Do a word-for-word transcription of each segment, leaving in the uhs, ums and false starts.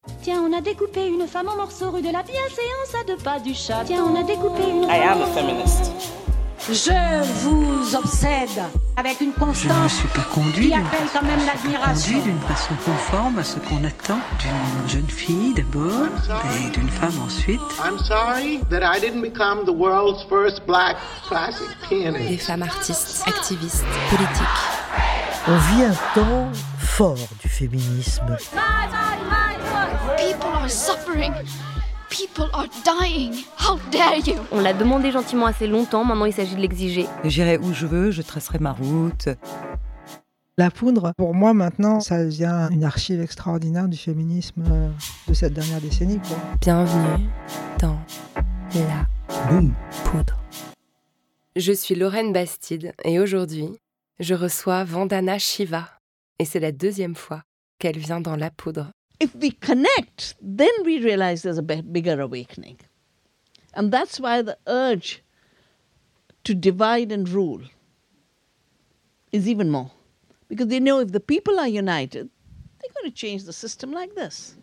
Tiens, on a découpé une femme en morceaux rue de la bienséance à deux pas du chat. Tiens, on a découpé une I am a feminist. Je vous obsède avec une constance. Je ne suis pas conduit qui appelle quand même l'admiration. Conduit d'une façon conforme à ce qu'on attend d'une jeune fille d'abord et d'une femme ensuite. I'm sorry that I didn't become the world's first black classic pianist. Des femmes artistes, activistes, politiques. On vit un temps fort du féminisme. People are suffering. People are dying. How dare you? On l'a demandé gentiment assez longtemps, maintenant il s'agit de l'exiger. J'irai où je veux, je tracerai ma route. La poudre, pour moi maintenant, ça devient une archive extraordinaire du féminisme de cette dernière décennie, quoi. Bienvenue dans la Boum. poudre. Je suis Lorraine Bastide et aujourd'hui, je reçois Vandana Shiva. Et c'est la deuxième fois qu'elle vient dans La Poudre. If we connect, then we realize there's a bigger awakening. And that's why the urge to divide and rule is even more. Because they know if the people are united, they're going to change the system like this.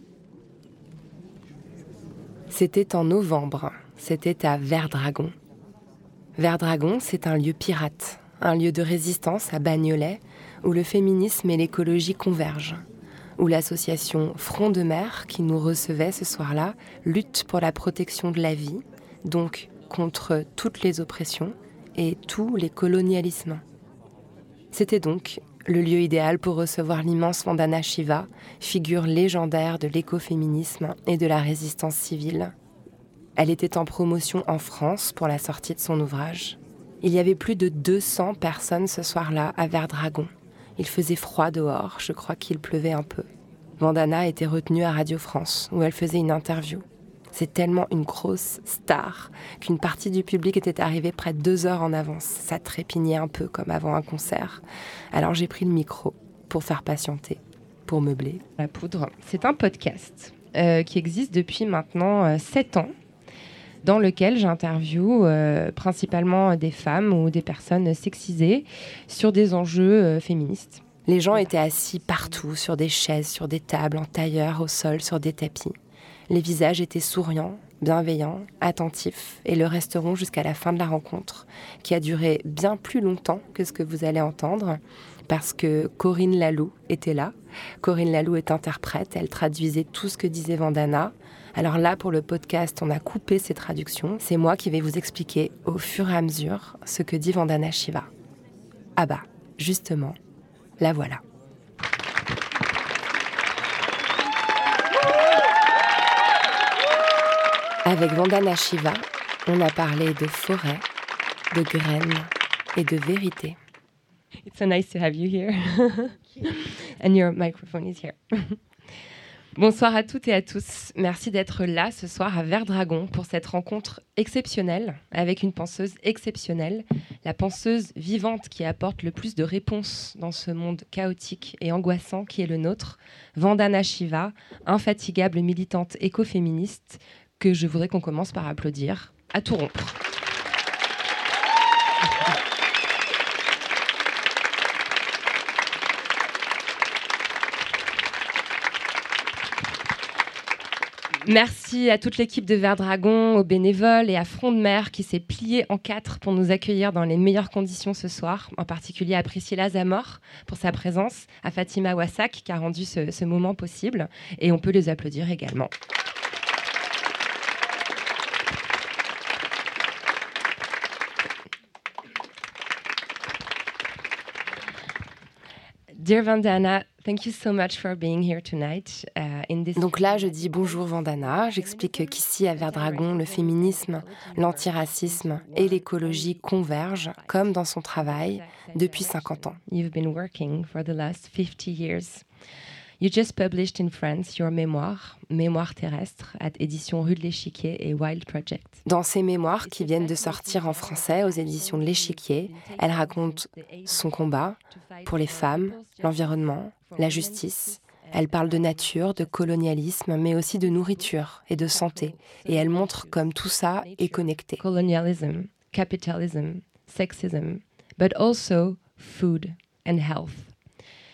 C'était en novembre, c'était à Verdragon. Verdragon, c'est un lieu pirate, un lieu de résistance à Bagnolet, où le féminisme et l'écologie convergent, où l'association Front de Mer, qui nous recevait ce soir-là, lutte pour la protection de la vie, donc contre toutes les oppressions et tous les colonialismes. C'était donc le lieu idéal pour recevoir l'immense Vandana Shiva, figure légendaire de l'écoféminisme et de la résistance civile. Elle était en promotion en France pour la sortie de son ouvrage. Il y avait plus de deux cents personnes ce soir-là à Verdragon. Il faisait froid dehors, je crois qu'il pleuvait un peu. Vandana était retenue à Radio France, où elle faisait une interview. C'est tellement une grosse star qu'une partie du public était arrivée près de deux heures en avance. Ça trépignait un peu comme avant un concert. Alors j'ai pris le micro pour faire patienter, pour meubler. La Poudre, c'est un podcast euh, qui existe depuis maintenant euh, sept ans, dans lequel j'interviewe euh, principalement des femmes ou des personnes sexisées sur des enjeux euh, féministes. Les gens étaient assis partout, sur des chaises, sur des tables, en tailleur, au sol, sur des tapis. Les visages étaient souriants, bienveillants, attentifs et le resteront jusqu'à la fin de la rencontre, qui a duré bien plus longtemps que ce que vous allez entendre, parce que Corinne Laloux était là. Corinne Laloux est interprète, elle traduisait tout ce que disait Vandana. Alors là, pour le podcast, on a coupé ces traductions. C'est moi qui vais vous expliquer au fur et à mesure ce que dit Vandana Shiva. Ah bah, justement, la voilà. Avec Vandana Shiva, on a parlé de forêt, de graines et de vérité. It's so nice to have you here. And your microphone is here. Bonsoir à toutes et à tous. Merci d'être là ce soir à Verdragon pour cette rencontre exceptionnelle avec une penseuse exceptionnelle, la penseuse vivante qui apporte le plus de réponses dans ce monde chaotique et angoissant qui est le nôtre, Vandana Shiva, infatigable militante écoféministe que je voudrais qu'on commence par applaudir à tout rompre. Merci à toute l'équipe de Verdragon, aux bénévoles et à Front de Mer qui s'est plié en quatre pour nous accueillir dans les meilleures conditions ce soir, en particulier à Priscilla Zamor pour sa présence, à Fatima Wassak qui a rendu ce, ce moment possible, et on peut les applaudir également. Dear Vandana, thank you so much for being here tonight. Uh, in this... Donc là, je dis bonjour Vandana. J'explique qu'ici, à Verdragon, le féminisme, l'antiracisme et l'écologie convergent, comme dans son travail, depuis cinquante ans. You've been working for the last fifty years. You just published in France your mémoire, Mémoire terrestre, à éditions Rue de l'Échiquier et Wild Project. Dans ces mémoires qui viennent de sortir en français aux éditions de l'Échiquier, elle raconte son combat pour les femmes, l'environnement, la justice. Elle parle de nature, de colonialisme, mais aussi de nourriture et de santé. Et elle montre comme tout ça est connecté. Colonialism, capitalism, sexism, but also food and health.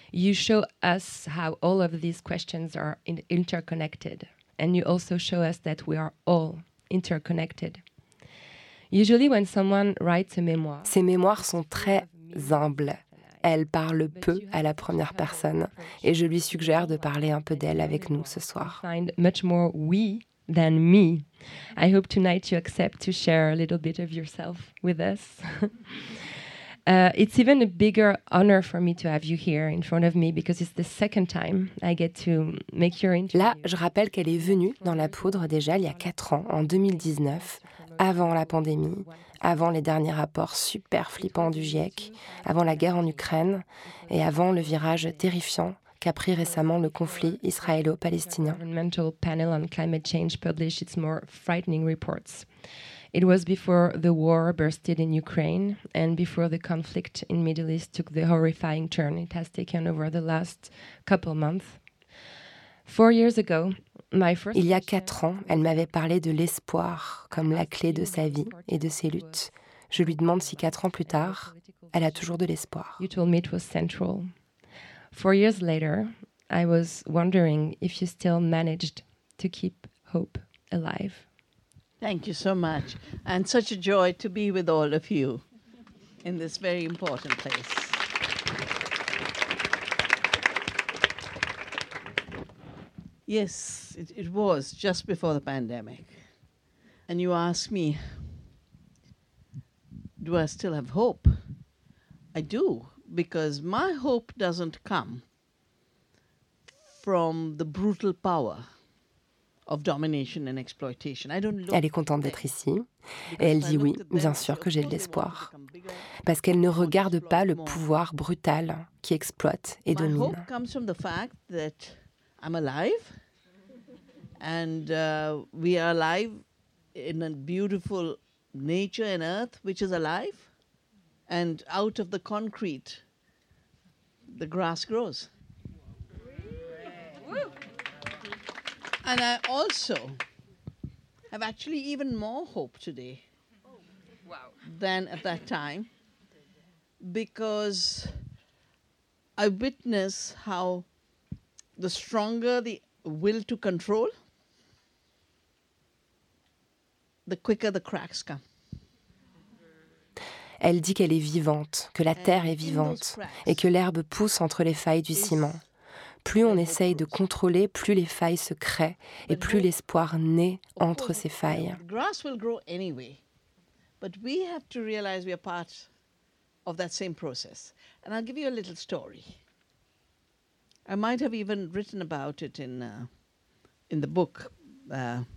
You show us how all of these questions are in- interconnected, and you also show us that we are all interconnected. Usually when someone writes a memoir, ces mémoires sont très humbles. Elle parle peu à la première personne, et je lui suggère de parler un peu d'elle avec nous ce soir. Find much more we than me. I hope tonight you accept to share a little bit of yourself with us. Uh, it's even a bigger honor for me to have you here in front of me because it's the second time I get to make your interview. Là, je rappelle qu'elle est venue dans La Poudre déjà il y a quatre ans, en deux mille dix-neuf, avant la pandémie, avant les derniers rapports super flippants du GIEC, avant la guerre en Ukraine et avant le virage terrifiant qu'a pris récemment le conflit israélo-palestinien. The Environmental Panel on Climate Change published its more frightening reports. It was before the war bursted in Ukraine and before the conflict in Middle East took the horrifying turn it has taken over the last couple months. Four years ago, my first Il y a quatre ans, elle m'avait parlé de l'espoir comme la clé de sa vie et de ses luttes. Je lui demande si quatre ans plus tard, elle a toujours de l'espoir. You told me it was central. Four years later, I was wondering if you still managed to keep hope alive. Thank you so much. And such a joy to be with all of you in this very important place. Yes, it, it was just before the pandemic. And you ask me, do I still have hope? I do, because my hope doesn't come from the brutal power of domination and exploitation. I don't look Elle est contente d'être ici et elle dit oui, bien sûr que j'ai de l'espoir. Parce qu'elle ne regarde pas le pouvoir brutal qui exploite et domine. My hope comes from the fact that I'm alive and uh, we are alive in a beautiful nature and earth which is alive, and out of the concrete the grass grows. And I also have actually even more hope today wow. than at that time, because I witness how the stronger the will to control, the quicker the cracks come. Elle dit qu'elle est vivante, que la terre est vivante et que l'herbe pousse entre les failles du ciment. Plus on essaye de contrôler, plus les failles se créent et plus l'espoir naît entre ces failles. The grass will grow anyway, but we have to realize we are part of that same process. And I'll give you a little story. I might have even written about it in uh, in the book. Uh,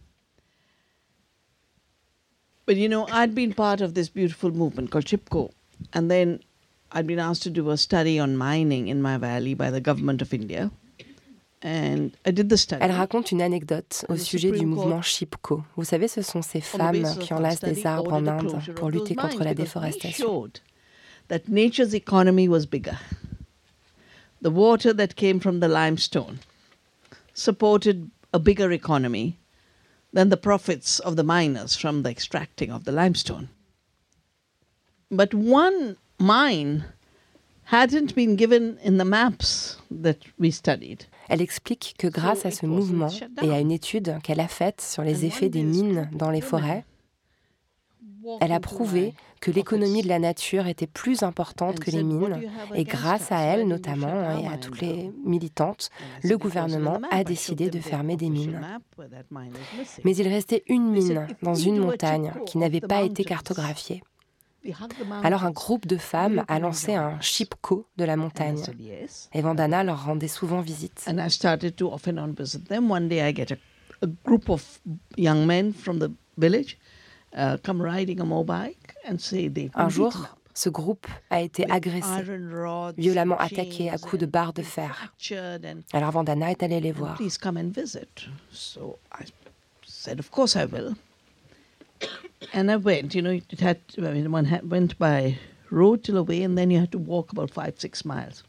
but you know, I'd been part of this beautiful movement called Chipko, and then I'd been asked to do a study on mining in my valley by the government of India. And I did the study. Elle raconte une anecdote au sujet du mouvement Chipko. Vous savez, ce sont ces femmes qui enlacent des arbres en Inde pour lutter contre la déforestation. That nature's economy was bigger. The water that came from the limestone supported a bigger economy than the profits of the miners from the extracting of the limestone. But one mine hadn't been given in the maps that we studied. Elle explique que grâce à ce mouvement et à une étude qu'elle a faite sur les effets des mines dans les forêts, elle a prouvé que l'économie de la nature était plus importante que les mines, et grâce à elle notamment et à toutes les militantes, le gouvernement a décidé de fermer des mines. Mais il restait une mine dans une montagne qui n'avait pas été cartographiée. Alors un groupe de femmes a lancé un Chipko de la montagne, et Vandana leur rendait souvent visite. And I started to off and on visit them. One day I get a, a group of young men from the village uh, come riding a motorbike and say they've been Un jour, beaten up. ce groupe a été agressé, violemment attaqué à coups de barres de fer. Alors Vandana est allée les voir. Please come and visit. So I said, of course I will. And I went, you know, it had, I mean, one had, went by road till away, and then you had to walk about five, six miles.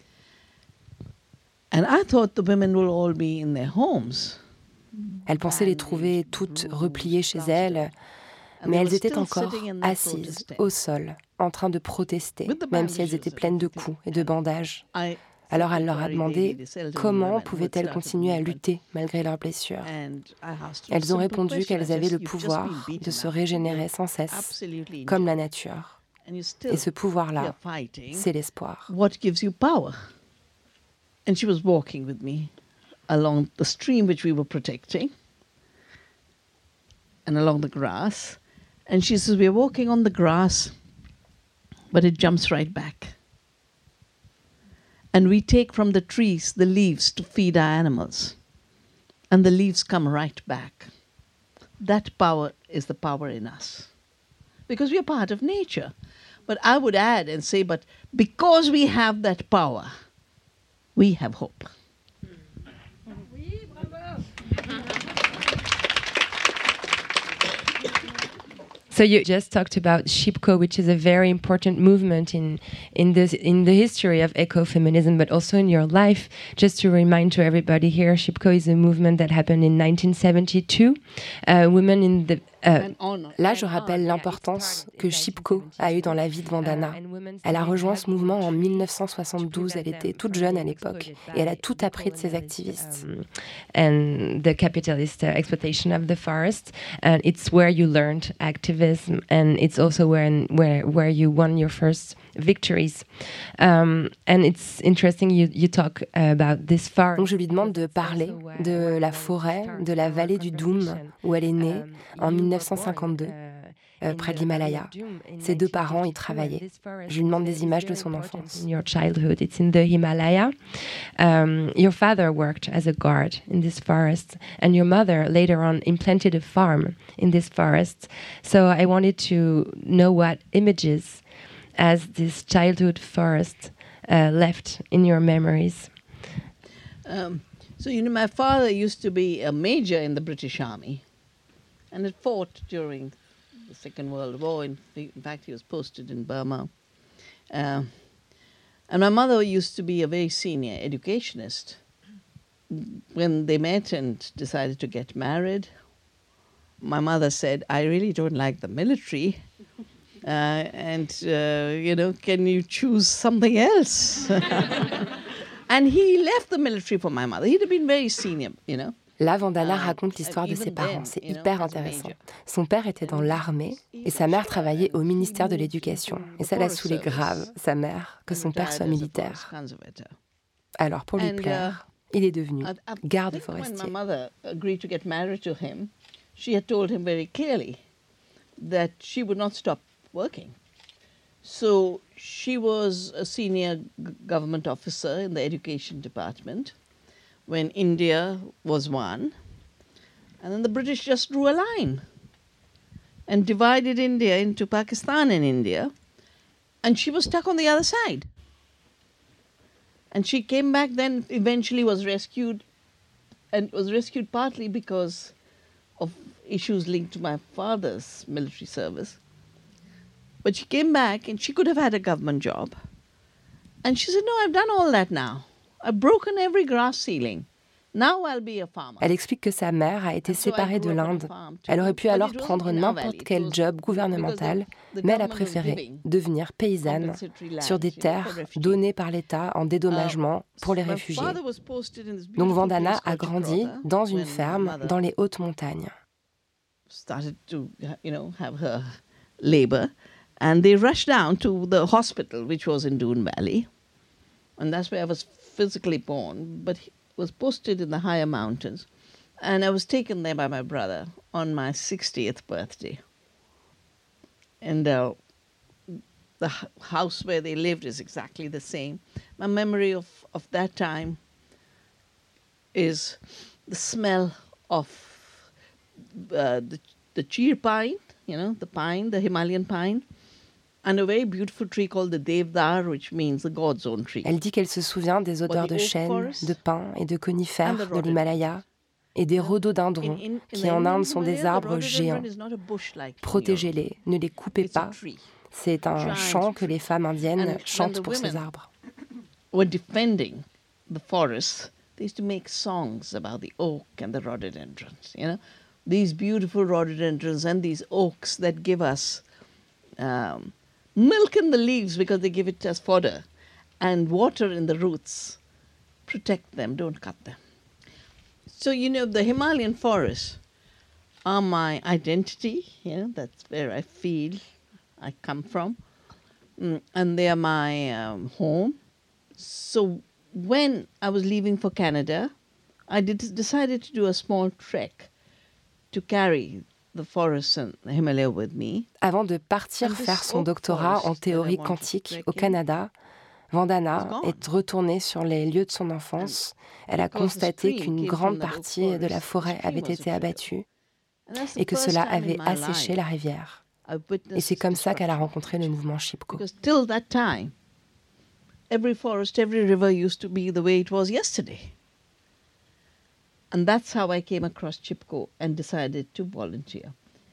And I thought the women will all be in their homes. Elle pensait les trouver toutes repliées chez elles, mais elles étaient encore assises au sol, en train de protester, même si elles étaient pleines de coups et de bandages. Alors elle leur a demandé comment pouvaient-elles continuer à lutter malgré leurs blessures. Elles ont répondu qu'elles avaient le pouvoir de se régénérer sans cesse, comme la nature. Et ce pouvoir-là, c'est l'espoir. What gives you power? And she was walking with me along the stream which we were protecting and along the grass. And she says, we're walking on the grass, but it jumps right back. And we take from the trees the leaves to feed our animals. And the leaves come right back. That power is the power in us. Because we are part of nature. But I would add and say, but because we have that power, we have hope. So you just talked about Shipko, which is a very important movement in in this in the history of ecofeminism, but also in your life. Just to remind to everybody here, Shipko is a movement that happened in nineteen seventy-two. Uh, women in the Euh, là, je rappelle l'importance que Shipko a eue dans la vie de Vandana. Elle a rejoint ce mouvement en mille neuf cent soixante-douze. Elle était toute jeune à l'époque et elle a tout appris de ses activistes. And the capitalist uh, exploitation of the forest, and it's where you learned activism, and it's also where where where you won your first victories. Um, and it's interesting you you talk about this forest. Donc je lui demande de parler de la forêt, de la vallée du Doum où elle est née en mille neuf cent cinquante-deux, euh, près de l'Himalaya. Ses deux parents y travaillaient. Je lui demande des images de son enfance. In your childhood, it's in the Himalaya. Um, your father worked as a guard in this forest, and your mother later on implanted a farm in this forest. So I wanted to know what images as this childhood forest uh, left in your memories. Um, so, you know, my father used to be a major in the British Army. And had fought during the Second World War. In, in fact, he was posted in Burma. Uh, and my mother used to be a very senior educationist. When they met and decided to get married, my mother said, I really don't like the military. Uh, and, uh, you know, can you choose something else? And he left the military for my mother. He'd have been very senior, you know. Là, Vandana raconte l'histoire de ses parents. C'est hyper intéressant. Son père était dans l'armée et sa mère travaillait au ministère de l'Éducation. Et ça l'a saoulé grave, sa mère, que son père soit militaire. Alors, pour lui plaire, il est devenu garde forestier. When my mother agreed to get married to him, she had told him very clearly that she would not stop working. So she was a senior government officer in the education department when India was one. And then the British just drew a line and divided India into Pakistan and India. And she was stuck on the other side. And she came back then, eventually was rescued, and was rescued partly because of issues linked to my father's military service. But she came back and she could have had a government job. And she said, no, I've done all that now. I've broken every glass ceiling. Now I'll be a farmer. Elle explique que sa mère a été séparée de l'Inde. Elle aurait pu alors prendre n'importe quel job gouvernemental, mais elle a préféré devenir paysanne sur des terres données par l'État en dédommagement pour les réfugiés. Donc Vandana a grandi dans une ferme dans les hautes montagnes. Started to, you know, have her labor, and they rushed down to the hospital, which was in Doon Valley, and that's where I was physically born, but he was posted in the higher mountains, and I was taken there by my brother on my sixtieth birthday. And uh, the house where they lived is exactly the same. My memory of, of that time is the smell of uh, the, the cheer pine, you know, the pine, the Himalayan pine, and a very beautiful tree called the Devdar, which means the God's own tree. Elle dit qu'elle se souvient des odeurs de chêne, de pin et de conifères de l'Himalaya et des rhododendrons qui en Inde sont des arbres géants. Protégez-les, ne les coupez pas. C'est un chant que les femmes indiennes chantent pour ces arbres. Were defending the forests. They used to make songs about the oak and the rhododendrons, you know. These beautiful rhododendrons and these oaks that give us um, milk in the leaves because they give it as fodder. and water in the roots. Protect them, don't cut them. So, you know, the Himalayan forests are my identity. You know, that's where I feel I come from. Mm, and they are my um, home. So when I was leaving for Canada, I did, decided to do a small trek to carry the forests and the Himalaya with me. Avant de partir faire son doctorat en théorie quantique au Canada, Vandana est retournée sur les lieux de son enfance. Elle a constaté qu'une grande partie de la forêt avait été abattue et que cela avait asséché la rivière. Et c'est comme ça qu'elle a rencontré le mouvement Chipko. Till that time, every forest, every river used to be the way it was yesterday. And that's how I came across Chipko and decided to volunteer.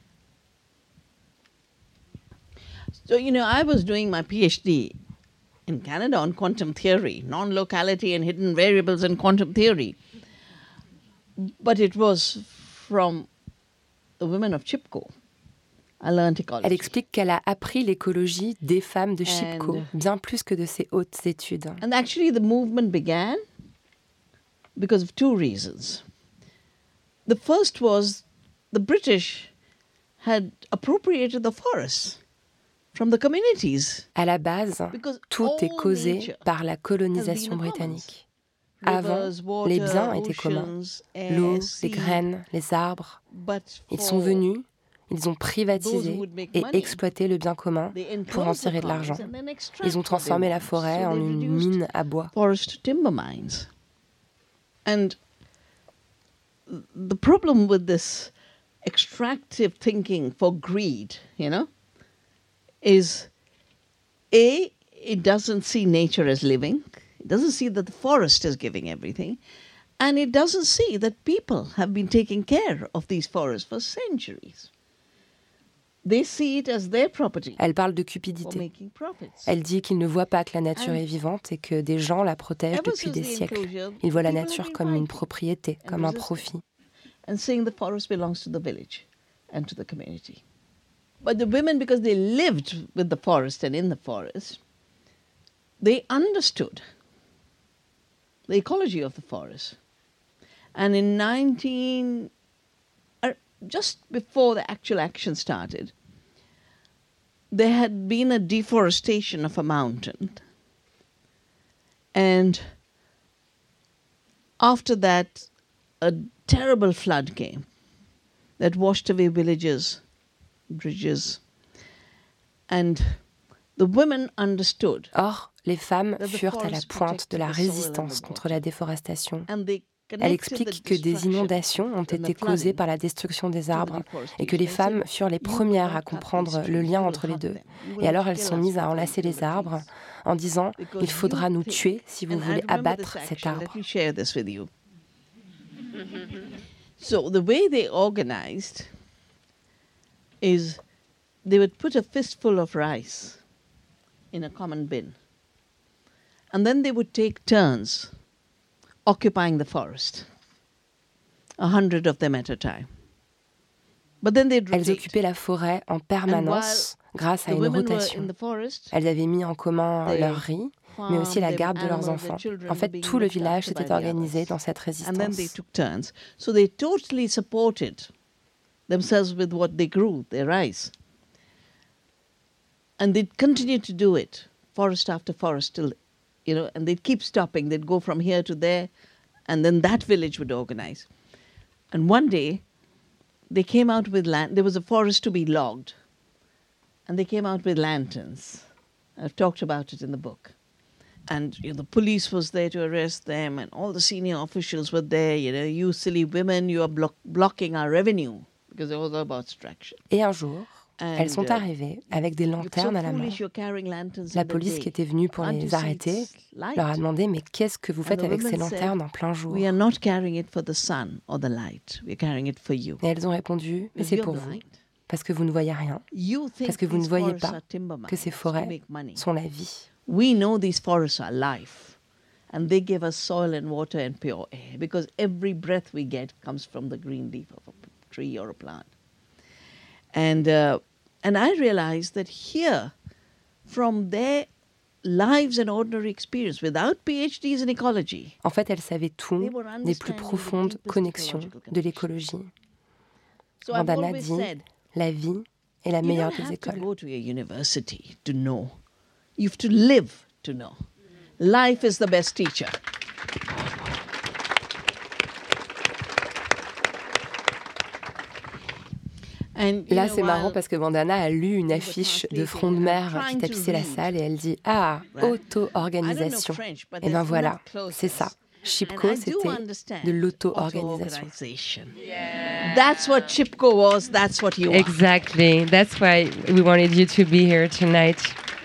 So, you know, I was doing my PhD in Canada on quantum theory, non-locality and hidden variables in quantum theory. But it was from the women of Chipko. I learned ecology. Elle explique qu'elle a appris l'écologie des femmes de Chipko, and, bien plus que de ses hautes études. And actually the movement began because of two reasons. The first was the British had appropriated the forests from the communities. À la base, tout est causé par la colonisation britannique. Avant, les biens étaient communs. L'eau, les graines, les arbres. Ils sont venus, ils ont privatisé et exploité le bien commun pour en tirer de l'argent. Ils ont transformé la forêt en une mine à bois. Forest timber mines. And the problem with this extractive thinking for greed, you know, is A, it doesn't see nature as living. It doesn't see that the forest is giving everything. And it doesn't see that people have been taking care of these forests for centuries. They see it as their property. Elle parle de cupidité. Elle dit qu'ils ne voient pas que la nature est vivante et que des gens la protègent depuis des siècles. Ils voient la nature comme une propriété, comme un profit. And saying the forest belongs to the village and to the community. But the women, because they lived with the forest and in the forest, they understood the ecology of the forest. And in nineteen, uh, just before the actual action started, there had been a deforestation of a mountain. And after that, a terrible flood came that washed away villages, bridges. And the women understood. Or, les femmes furent à la pointe de la résistance contre la déforestation. Elle explique que des inondations ont été causées par la destruction des arbres et que les femmes furent les premières à comprendre le lien entre les deux. Et alors elles sont mises à enlacer les arbres en disant « Il faudra nous tuer si vous voulez abattre cet arbre ». So the way they organized is they would put a fistful of rice in a common bin. And then they would take turns occupying the forest, a hundred of them at a time. But then they'd rotate. Elles occupaient la forêt en permanence grâce à une rotation. Elles avaient mis en commun leur riz, mais aussi la garde de leurs enfants. En fait, tout le village s'était organisé dans cette résistance. And then they took turns. So they totally supported themselves with what they grew, their rice. And they'd continue to do it, forest after forest, till, you know, and they'd keep stopping. They'd go from here to there, and then that village would organize. And one day, they came out with land. There was a forest to be logged. And they came out with lanterns. I've talked about it in the book. And you know, the police was there to arrest them, and all the senior officials were there. You know, you silly women, you are blo- blocking our revenue, because it was about extraction. Et un jour, elles sont arrivées avec des lanternes à la main. La police qui était venue pour les arrêter leur a demandé « Mais qu'est-ce que vous faites avec ces lanternes en plein jour ?» We are not carrying it for the sun or the light. We are carrying it for you. Et elles ont répondu « Mais c'est pour vous, parce que vous ne voyez rien, parce que vous ne voyez pas que ces forêts sont la vie. » We know these forests are life, and they give us soil and water and pure air, because every breath we get comes from the green leaf of a tree or a plant. And uh, and I realized that here, from their lives and ordinary experience without P H Ds in ecology. En fait, elle savait tout des plus profondes connexions de l'écologie. Vandana dit, la vie est la meilleure des écoles. You don't have to go to a university to know. You have to live to know. Life is the best teacher. Là, c'est marrant parce que Vandana a lu une affiche de front de mer qui tapissait la salle et elle dit « Ah, auto-organisation ». Et ben voilà, c'est ça. Chipko, c'était de l'auto-organisation. That's what Chipko was, that's what you are. Exactly. That's why we wanted you to be here tonight.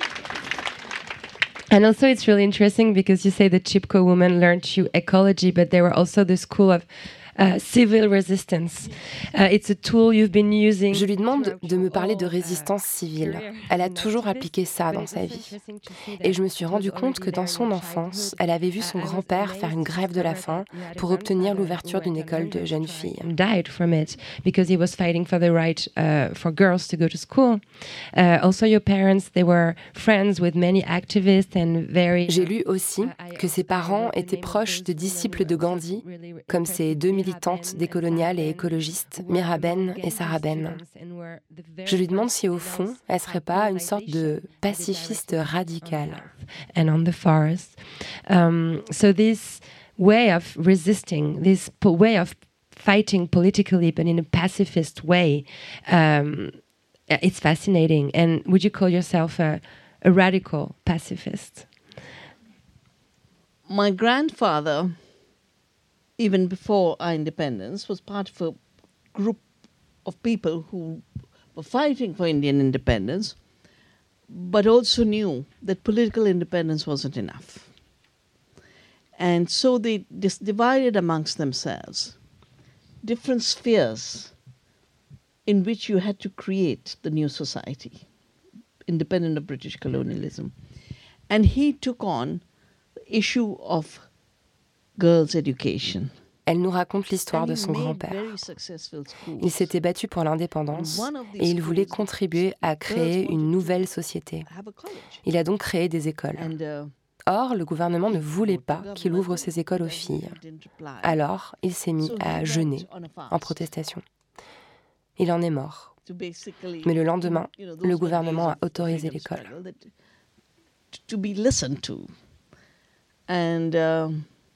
And also it's really interesting because you say the Chipko women learned you ecology, but they were also the school of Uh, civil resistance. Uh, it's a tool you've been using. Je lui demande de me parler de résistance civile. Elle a toujours appliqué ça dans sa vie. Et je me suis rendu compte que dans son enfance, elle avait vu son grand-père faire une grève de la faim pour obtenir l'ouverture d'une école de jeunes filles. Died from it because he was fighting for the right uh, for girls to go to school. Uh, also, your parents, they were friends with many activists and very. J'ai lu aussi que ses parents étaient proches de disciples de Gandhi, comme ses deux militantes décoloniales et écologistes, Miraben et Saraben. Je lui demande si au fond, elle ne serait pas une sorte de pacifiste radicale. And on the forest. Um, so this way of resisting, this po- way of fighting politically, but in a pacifist way, um, it's fascinating. And would you call yourself a, a radical pacifist? My grandfather, even before our independence, was part of a group of people who were fighting for Indian independence, but also knew that political independence wasn't enough. And so they dis- divided amongst themselves different spheres in which you had to create the new society, independent of British colonialism. And he took on the issue of girls' education. Elle nous raconte l'histoire de son grand-père. Il s'était battu pour l'indépendance et il voulait contribuer à créer une nouvelle société. Il a donc créé des écoles. Or, le gouvernement ne voulait pas qu'il ouvre ses écoles aux filles. Alors, il s'est mis à jeûner en protestation. Il en est mort. Mais le lendemain, le gouvernement a autorisé l'école. To be listened to. And uh,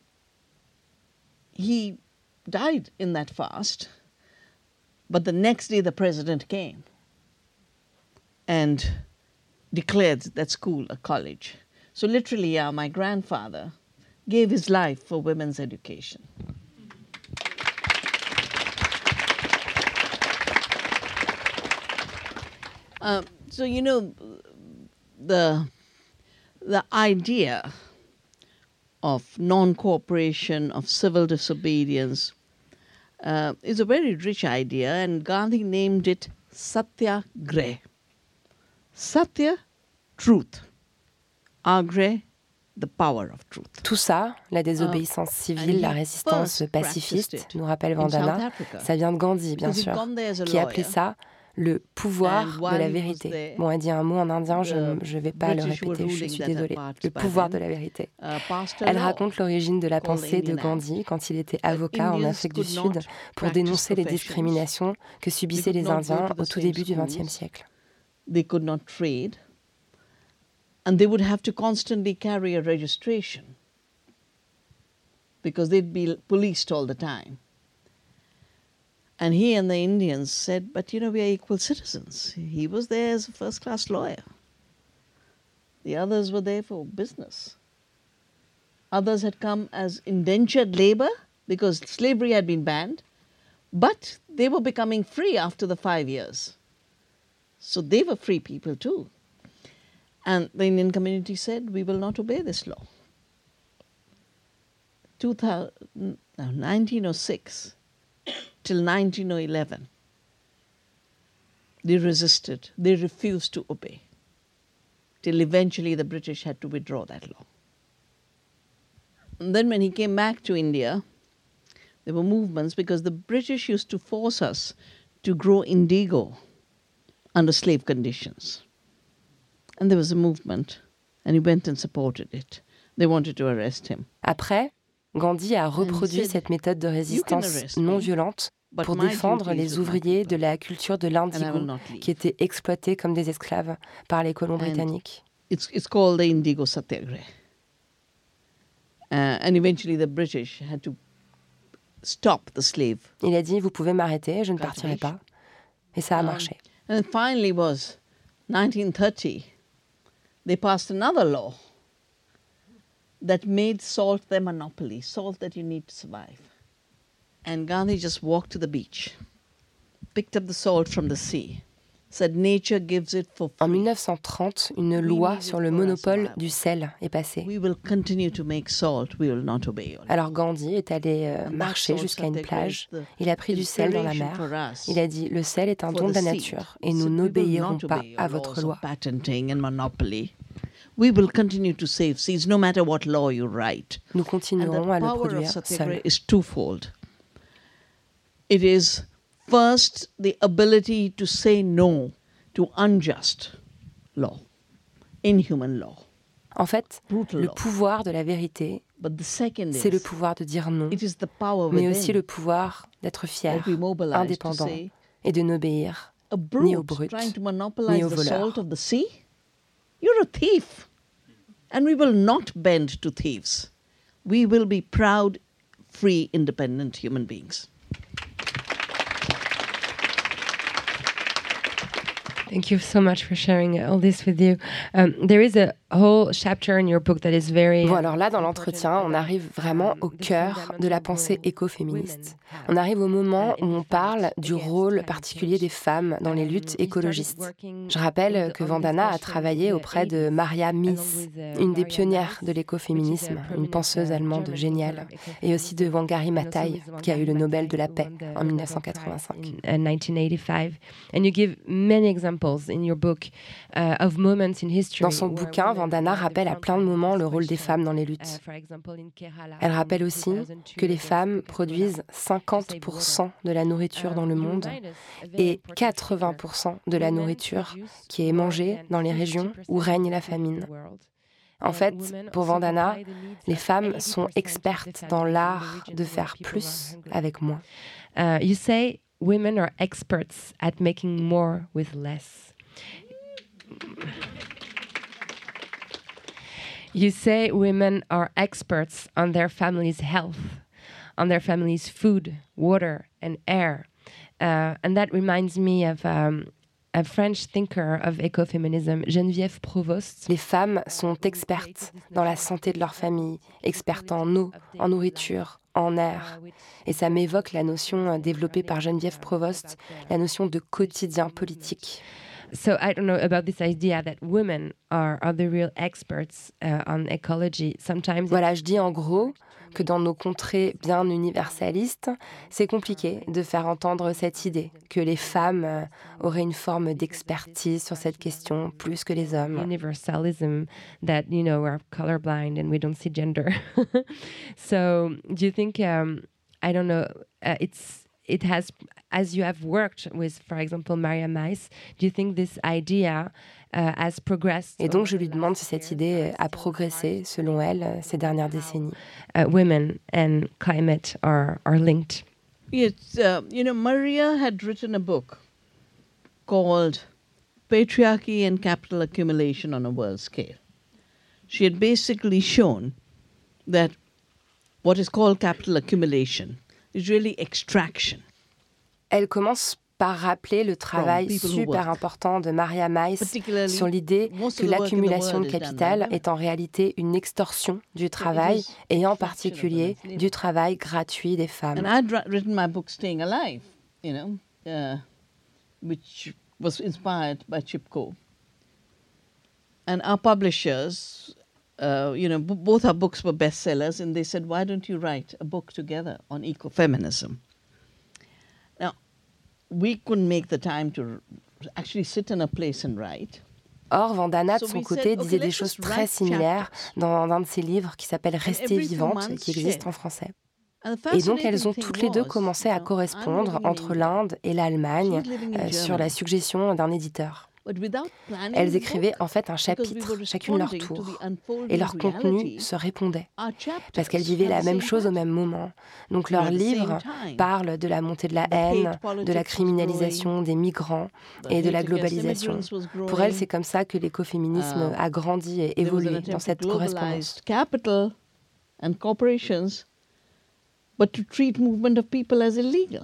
he died in that fast, but the next day the president came and declared that school a college. So literally, yeah, my grandfather gave his life for women's education. Uh, so, you know, the the idea of non-cooperation, of civil disobedience, uh, is a very rich idea, and Gandhi named it Satyagrah. Satya, truth. Agrah, the power of truth. Tout ça, la désobéissance civile, la résistance pacifiste, nous rappelle Vandana, ça vient de Gandhi, bien sûr, qui appelait ça le pouvoir de la vérité. Bon, elle dit un mot en indien, je ne vais pas le répéter, je suis désolée. Le pouvoir de la vérité. Elle raconte l'origine de la pensée de Gandhi quand il était avocat en Afrique du Sud pour dénoncer les discriminations que subissaient les Indiens au tout début du vingtième siècle. They could not trade, and they would have to constantly carry a registration because they'd be policed all the time. And he and the Indians said, but, you know, we are equal citizens. He was there as a first-class lawyer. The others were there for business. Others had come as indentured labor because slavery had been banned, but they were becoming free after the five years. So they were free people too. And the Indian community said, we will not obey this law. two thousand, no, nineteen oh six till nineteen eleven, they resisted, they refused to obey, till eventually the British had to withdraw that law. And then when he came back to India, there were movements because the British used to force us to grow indigo under slave conditions. And there was a movement And he went and supported it. They wanted to arrest him. Après, Gandhi a reproduit cette méthode de résistance non violente pour défendre les ouvriers de la culture de l'indigo qui étaient exploités comme des esclaves par les colons britanniques. It's, it's called the Indigo Satyagraha. Uh, and eventually the British had to stop the slave. Il a dit, vous pouvez m'arrêter, je ne partirai pas. Et ça a marché. Um, and finally was nineteen thirty. They passed another law that made salt their monopoly, salt that you need to survive. And Gandhi just walked to the beach, picked up the salt from the sea, said nature gives it for free. En mille neuf cent trente, une loi sur le monopole du sel est passée. We will continue to make salt, we will not obey. Alors Gandhi est allé euh, marcher jusqu'à une plage. Il a pris du sel dans la mer. Il a dit, le sel est un don de la nature et nous n'obéirons pas à votre loi. We will continue to save seeds no matter what law you write. Nous continuerons à le produire seuls. Is twofold. It is first the ability to say no to unjust law, inhuman law. En fait, le pouvoir de la vérité, c'est le pouvoir de dire non, mais aussi le pouvoir d'être fier, indépendant et de n'obéir ni aux brutes, ni aux voleurs. You're a thief. And we will not bend to thieves. We will be proud, free, independent human beings. Thank you so much for sharing all this with you. Um, there is a whole chapter in your book that is very... Bon, alors là, dans l'entretien, on arrive vraiment au cœur de la pensée écoféministe. On arrive au moment où on parle du rôle particulier des femmes dans les luttes écologistes. Je rappelle que Vandana a travaillé auprès de Maria Mies, une des pionnières de l'écoféminisme, une penseuse allemande géniale, et aussi de Wangari Maathai, qui a eu le Nobel de la paix en mille neuf cent quatre-vingt-cinq. In nineteen eighty-five. And you give many examples in your book uh, of moments in history. Dans son bouquin, Vandana rappelle à plein de moments le rôle des femmes dans les luttes. Elle rappelle aussi que les femmes produisent cinquante pour cent de la nourriture dans le monde et quatre-vingts pour cent de la nourriture qui est mangée dans les régions où règne la famine. En fait, pour Vandana, les femmes sont expertes dans l'art de faire plus avec moins. Uh, you say women are experts at making more with less. You say women are experts on their family's health, on their family's food, water, and air. Uh, and that reminds me of um, a French thinker of ecofeminism, Geneviève Provost. Les femmes sont expertes dans la santé de leur famille, expertes en eau, en nourriture, en air. Et ça m'évoque la notion développée par Geneviève Provost, la notion de quotidien politique. So I don't know about this idea that women are, are the real experts uh, on ecology. Sometimes voilà, je dis en gros que dans nos contrées bien universalistes, c'est compliqué de faire entendre cette idée que les femmes euh, auraient une forme d'expertise sur cette question plus que les hommes. Universalism that, you know, we're colorblind and we don't see gender. So do you think, um, I don't know, uh, it's it has, as you have worked with, for example, Maria Mies, do you think this idea uh, has progressed? Et donc je lui demande si cette idée a progressé, selon elle, ces dernières décennies. Uh, women and climate are, are linked. Yes, uh, you know, Maria had written a book called Patriarchy and Capital Accumulation on a World Scale. She had basically shown that what is called capital accumulation is really extraction. Elle commence par rappeler le travail super important de Maria Mies sur l'idée que l'accumulation de capital est en réalité une extorsion du travail et en particulier du travail gratuit des femmes. And I'd written my book Staying Alive, you know, uh, which was inspired by Chipko. And our publishers, uh, you know, b- both our books were bestsellers, and they said, why don't you write a book together on ecofeminism? Now, we couldn't make the time to actually sit in a place and write. Or, Vandana, de son côté, disait des choses très similaires dans un de ses livres qui s'appelle « Rester vivante », qui existe en français. Et donc, elles ont toutes les deux commencé à correspondre entre l'Inde et l'Allemagne euh, sur la suggestion d'un éditeur. Elles écrivaient en fait un chapitre, chacune leur tour, et leur contenu se répondait, parce qu'elles vivaient la même chose au même moment. Donc leurs livres parlent de la montée de la haine, de la criminalisation des migrants et de la globalisation. Pour elles, c'est comme ça que l'écoféminisme a grandi et évolué dans cette correspondance. Capital and corporations, but to treat movement of people as illegal.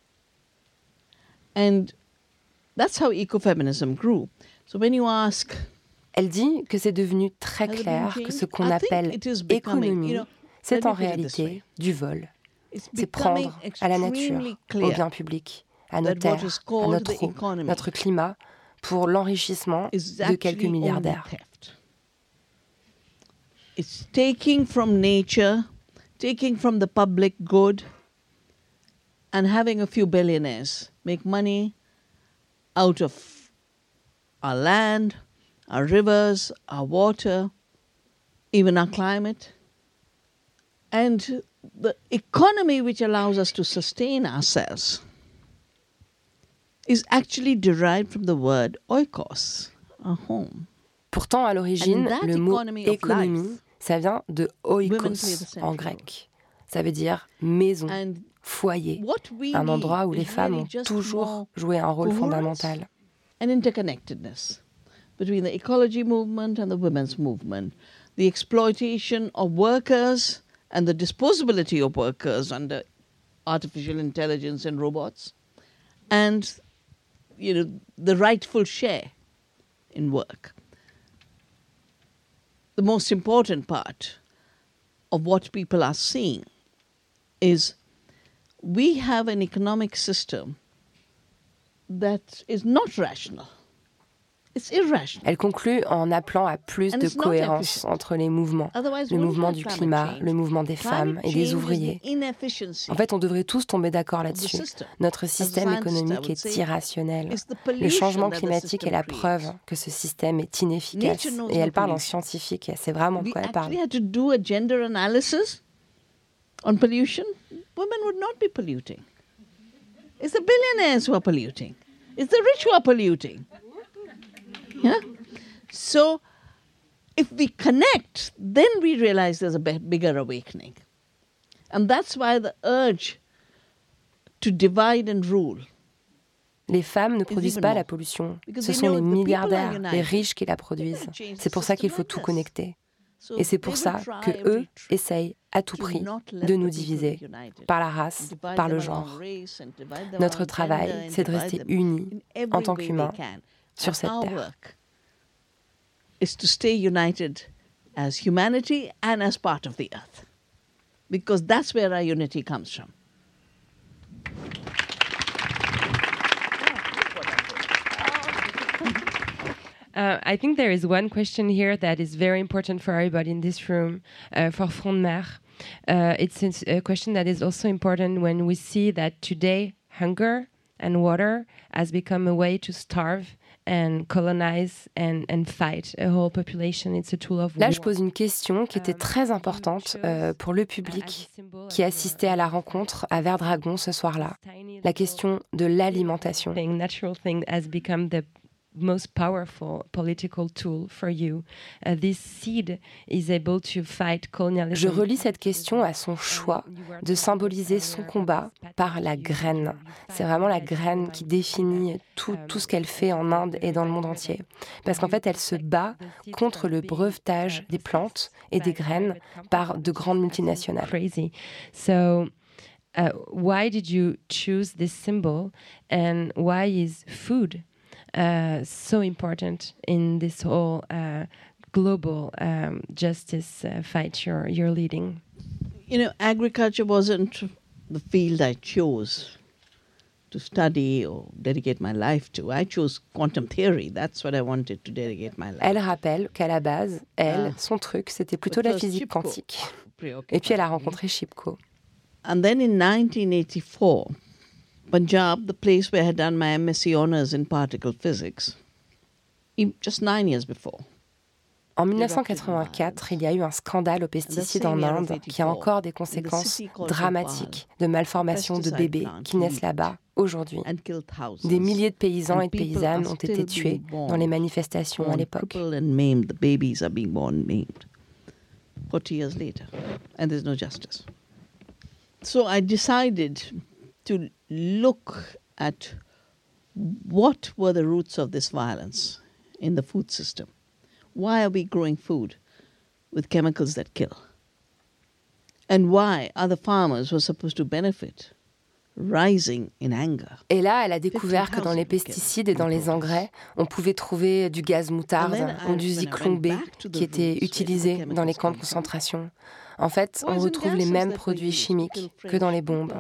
And that's how ecofeminism grew. So when you ask, elle dit que c'est devenu très clair que ce qu'on appelle économie, c'est en réalité du vol. C'est prendre à la nature, au bien public, à nos terres, à notre eau, notre climat, pour l'enrichissement de quelques milliardaires. It's taking from nature, taking from the public good, and having a few billionaires make money out of our land, our rivers, our water, even our climate. And the economy which allows us to sustain ourselves is actually derived from the word oikos, a home. Pourtant, à l'origine, le mot économie, ça vient de oikos en grec. Ça veut dire maison, foyer, un endroit où les femmes ont toujours joué un rôle fondamental. An interconnectedness between the ecology movement and the women's movement, the exploitation of workers and the disposability of workers under artificial intelligence and robots, and you know the rightful share in work. The most important part of what people are seeing is we have an economic system that is not rational. It's irrational. Elle conclut en appelant à plus de cohérence entre les mouvements, le mouvement du climat, le mouvement des femmes et des ouvriers. En fait, on devrait tous tomber d'accord là-dessus. Notre système économique est irrationnel. Le changement climatique est la preuve que ce système est inefficace. Et elle parle en scientifique, et c'est vraiment de quoi elle parle. If we had to do a gender analysis on pollution, women would not be polluting. It's the billionaires who are polluting. It's the rich who are polluting. Yeah? So, if we connect, then we realize there's a b- bigger awakening. And that's why the urge to divide and rule. Les femmes ne produisent pas la pollution. Ce sont les milliardaires, les riches qui la produisent. C'est pour ça qu'il faut tout connecter. Et c'est pour ça que eux essayent à tout prix de nous diviser par la race, par le genre. Notre travail, c'est de rester unis en tant qu'humains sur cette terre. Is to stay united as humanity and as part of the earth, because that's where our unity comes from. Uh, I think there is one question here that is very important for everybody in this room, uh, for Front de Mer. Uh, it's a question that is also important when we see that today hunger and water has become a way to starve and colonize and, and fight a whole population. It's a tool of war. Là, je pose une question qui était très importante euh, pour le public qui assistait à la rencontre à Verdragon ce soir-là. La question de l'alimentation. Natural thing has become the most powerful political tool for you. Uh, this seed is able to fight colonialism. Je relis cette question à son choix de symboliser son combat par la graine. C'est vraiment la graine qui définit tout, tout ce qu'elle fait en Inde et dans le monde entier. Parce qu'en fait, elle se bat contre le brevetage des plantes et des graines par de grandes multinationales. Crazy. So, uh, why did you choose this symbol and why is food Uh, so important in this whole uh, global um, justice uh, fight you're, you're leading? You know, agriculture wasn't the field I chose to study or dedicate my life to. I chose quantum theory. That's what I wanted to dedicate my life. Elle rappelle qu'à la base, elle, son truc, c'était plutôt la physique quantique. Et puis elle a rencontré Chipko. And then in nineteen eighty-four, Punjab, the place where I had done my M S c honours in particle physics, just nine years before. En dix-neuf cent quatre-vingt-quatre, il y a eu un scandale aux pesticides en Inde qui a encore des conséquences dramatiques de malformations de bébés qui naissent là-bas aujourd'hui. Des milliers de paysans et de paysannes ont été tués dans les manifestations à l'époque. forty years later, and there's no justice. So I decided to look at what were the roots of this violence in the food system. Why are we growing food with chemicals that kill? And why are the farmers who are supposed to benefit rising in anger? Et là, elle a découvert que dans les pesticides et dans les engrais, on pouvait trouver du gaz moutarde ou du zyklon B qui était utilisé dans les camps de concentration. En fait, on retrouve les mêmes produits chimiques que dans les bombes.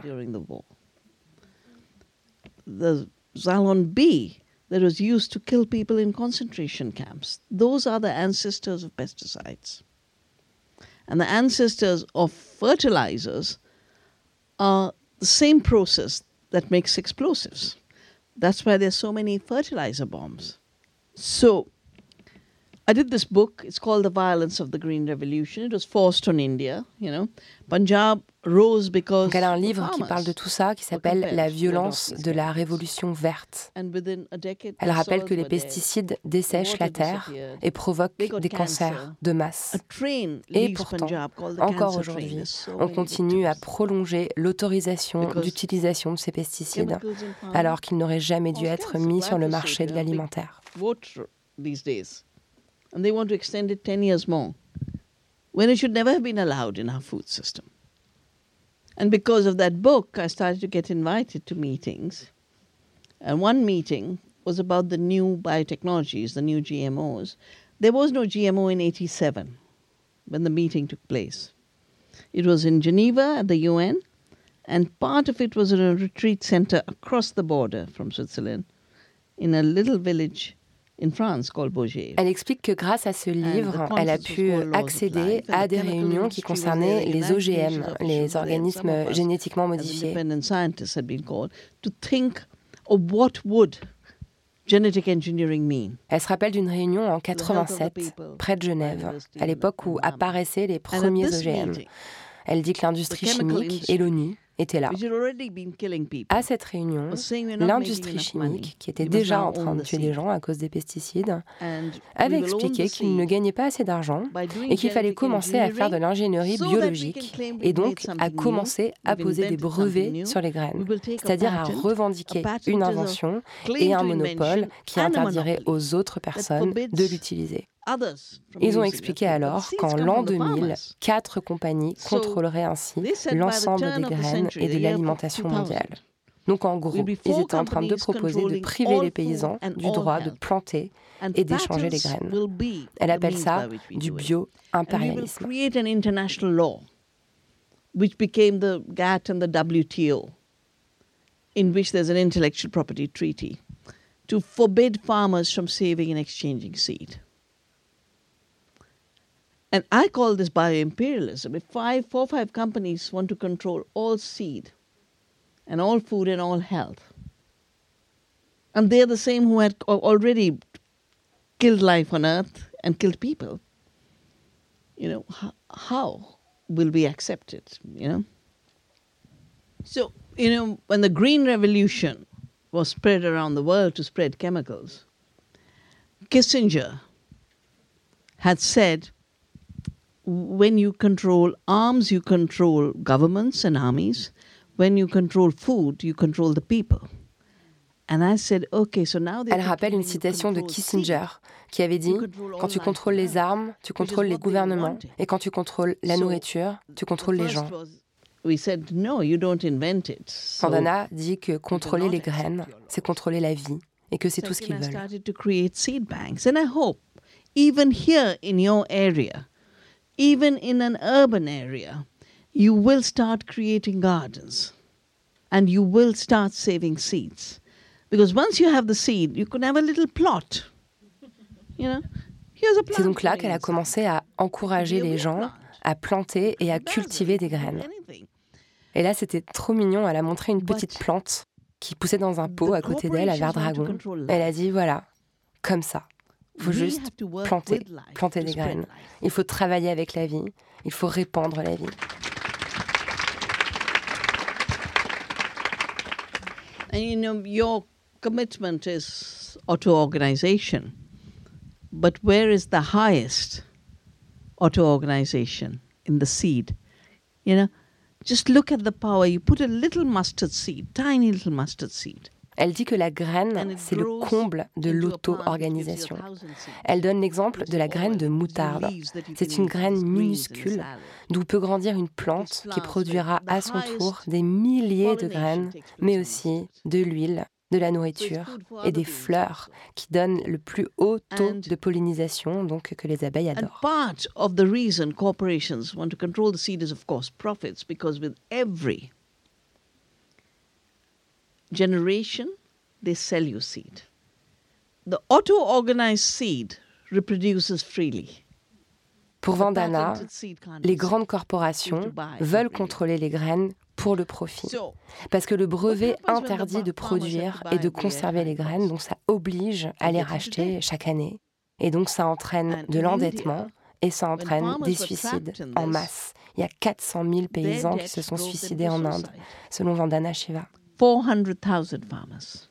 The Zyklon B that was used to kill people in concentration camps, those are the ancestors of pesticides. And the ancestors of fertilizers are the same process that makes explosives. That's why there's so many fertilizer bombs. So I did this book. It's called The Violence of the Green Revolution. It was forced on India, you know. Punjab rose because Donc elle a un livre qui parle de tout ça, qui s'appelle « La violence de la révolution verte ». Elle rappelle que les pesticides dessèchent la terre et provoquent des cancers de masse. Et pourtant, encore aujourd'hui, on continue à prolonger l'autorisation d'utilisation de ces pesticides, alors qu'ils n'auraient jamais dû être mis sur le marché de l'alimentaire. And they want to extend it ten years more, when it should never have been allowed in our food system. And because of that book, I started to get invited to meetings. And one meeting was about the new biotechnologies, the new G M Os. There was no G M O in eighty-seven when the meeting took place. It was in Geneva at the U N, and part of it was in a retreat center across the border from Switzerland, in a little village in France called Beaugé. Elle explique que grâce à ce livre, elle a pu accéder à des réunions qui concernaient les O G M, les organismes génétiquement modifiés. To think of what would genetic engineering mean. Elle se rappelle d'une réunion en quatre-vingt-sept, près de Genève, à l'époque où apparaissaient les premiers O G M. Elle dit que l'industrie chimique et l'ONU étaient là. À cette réunion, l'industrie chimique, qui était déjà en train de tuer des gens à cause des pesticides, avait expliqué qu'il ne gagnait pas assez d'argent et qu'il fallait commencer à faire de l'ingénierie biologique et donc à commencer à poser des brevets sur les graines, c'est-à-dire à revendiquer une invention et un monopole qui interdirait aux autres personnes de l'utiliser. Ils ont expliqué alors qu'en l'an deux mille, quatre compagnies contrôleraient ainsi l'ensemble des graines et de l'alimentation mondiale. Donc en gros, ils étaient en train de proposer de priver les paysans du droit de planter et d'échanger les graines. Elle appelle ça du bio-impérialisme. Which became the G A T t and the W T O, in which there's an intellectual property treaty, to forbid farmers from saving and exchanging seed. And I call this bioimperialism. If five, four, five companies want to control all seed and all food and all health, and they're the same who had already killed life on earth and killed people, you know, how, how will we accept it, you know? So, you know, when the Green Revolution was spread around the world to spread chemicals, Kissinger had said, when you control arms, you control governments and armies. When you control food, you control the people. And I said, okay, so now Elle rappelle une citation de Kissinger qui avait dit « Quand tu contrôles les armes, tu contrôles les gouvernements, et quand tu contrôles la nourriture, tu contrôles les gens. » Vandana dit que contrôler les graines, c'est contrôler la vie, et que c'est tout ce qu'ils veulent. And I hope, even here in your area, even in an urban area, you will start creating gardens and you will start saving seeds. Because once you have the seed, you can have a little plot. You know? Here's a plant. C'est donc là qu'elle a commencé à encourager les gens à planter et à cultiver des graines. Et là, c'était trop mignon. Elle a montré une petite plante qui poussait dans un pot à côté d'elle à Verdragon. Elle a dit, voilà, comme ça. Il faut juste planter, planter des graines. Il faut travailler avec la vie. Il faut répandre la vie. And you know, your commitment is auto-organization. But where is the highest auto-organization? In the seed. You know, just look at the power. You put a little mustard seed, tiny little mustard seed. Elle dit que la graine, c'est le comble de l'auto-organisation. Elle donne l'exemple de la graine de moutarde. C'est une graine minuscule d'où peut grandir une plante qui produira à son tour des milliers de graines, mais aussi de l'huile, de la nourriture et des fleurs qui donnent le plus haut taux de pollinisation, donc que les abeilles adorent. And part of the reason corporations want to control the seed is of course profits, because with every generation they sell you seed. The auto-organized seed reproduces freely. Pour Vandana, les grandes corporations veulent contrôler les graines pour le profit. Parce que le brevet interdit de produire et de conserver les graines, donc ça oblige à les racheter chaque année. Et donc ça entraîne de l'endettement et ça entraîne des suicides en masse. Il y a quatre cent mille paysans qui se sont suicidés en Inde, selon Vandana Shiva. four hundred thousand farmers.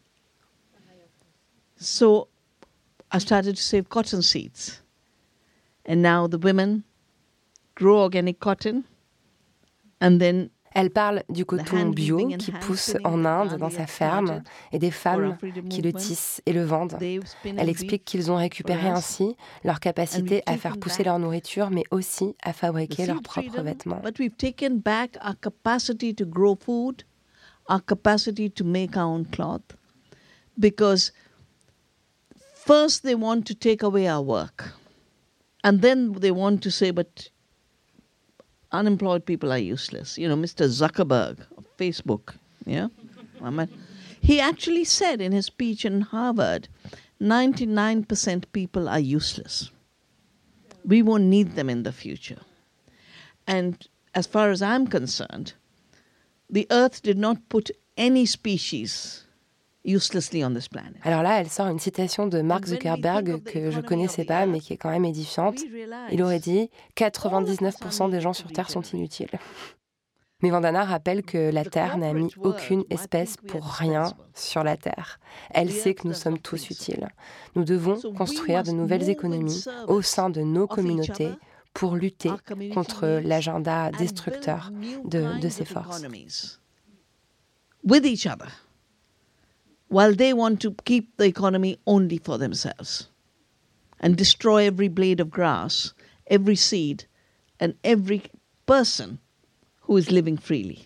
So I started to save cotton seeds. And now the women grow organic cotton and then Elle parle du coton bio qui pousse en Inde dans sa ferme et des femmes qui le tissent et le vendent. Elle explique qu'ils ont récupéré ainsi leur capacité à faire pousser leur nourriture, mais aussi à fabriquer leurs propres vêtements. But we've taken back our capacity to grow food, our capacity to make our own cloth, because first they want to take away our work, and then they want to say, but unemployed people are useless. You know, Mister Zuckerberg of Facebook, yeah? I mean, he actually said in his speech in Harvard, ninety-nine percent people are useless. We won't need them in the future. And as far as I'm concerned, the Earth did not put any species uselessly on this planet. Alors là, elle sort une citation de Mark Zuckerberg que je ne connaissais pas, mais qui est quand même édifiante. Il aurait dit « quatre-vingt-dix-neuf pour cent des gens sur Terre sont inutiles ». Mais Vandana rappelle que la Terre n'a mis aucune espèce pour rien sur la Terre. Elle sait que nous sommes tous utiles. Nous devons construire de nouvelles économies au sein de nos communautés pour lutter contre l'agenda destructeur de, de ces forces. With each other, while they want to keep the economy only for themselves and destroy every blade of grass, every seed, and every person who is living freely.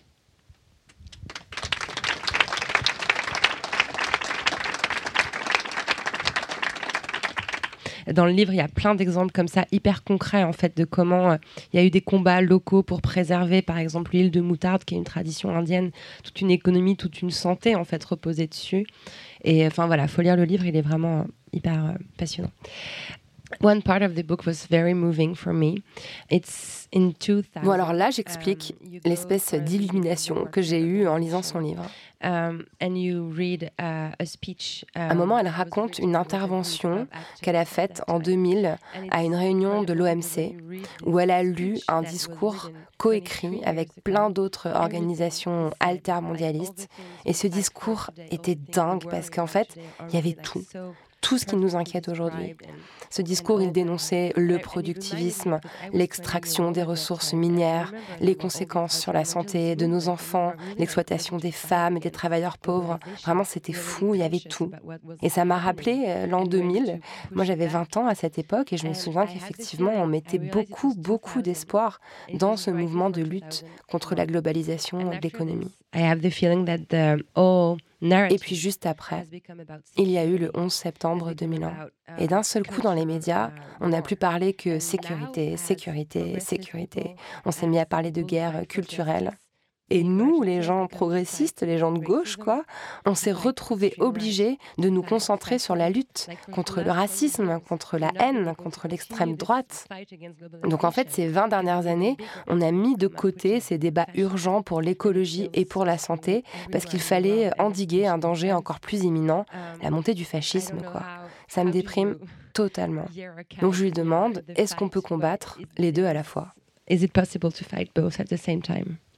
Dans le livre, il y a plein d'exemples comme ça, hyper concrets en fait, de comment euh, il y a eu des combats locaux pour préserver, par exemple, l'huile de moutarde, qui est une tradition indienne, toute une économie, toute une santé en fait reposée dessus. Et enfin voilà, faut lire le livre, il est vraiment euh, hyper euh, passionnant. One part of the book was very moving for me. It's in two thousand. Bon, alors là, j'explique um, l'espèce d'illumination que j'ai eue en lisant son livre. Um, and you read, uh, a speech, um, à un moment, elle raconte une intervention qu'elle a faite en deux mille à une réunion de l'O M C où elle a lu un discours coécrit avec plein d'autres organisations altermondialistes. Et ce discours était dingue parce qu'en fait, il y avait tout. Tout ce qui nous inquiète aujourd'hui. Ce discours, il dénonçait le productivisme, l'extraction des ressources minières, les conséquences sur la santé de nos enfants, l'exploitation des femmes et des travailleurs pauvres. Vraiment, c'était fou, il y avait tout. Et ça m'a rappelé euh, l'an deux mille. Moi, j'avais vingt ans à cette époque et je me souviens qu'effectivement, on mettait beaucoup, beaucoup d'espoir dans ce mouvement de lutte contre la globalisation de l'économie. I have the feeling that the all Et puis juste après, il y a eu le onze septembre deux mille un. Et d'un seul coup dans les médias, on n'a plus parlé que sécurité, sécurité, sécurité. On s'est mis à parler de guerre culturelle. Et nous, les gens progressistes, les gens de gauche, quoi, on s'est retrouvés obligés de nous concentrer sur la lutte contre le racisme, contre la haine, contre l'extrême droite. Donc en fait, ces vingt dernières années, on a mis de côté ces débats urgents pour l'écologie et pour la santé, parce qu'il fallait endiguer un danger encore plus imminent, la montée du fascisme, quoi. Ça me déprime totalement. Donc je lui demande, est-ce qu'on peut combattre les deux à la fois? Is it possible to fight both at the same time?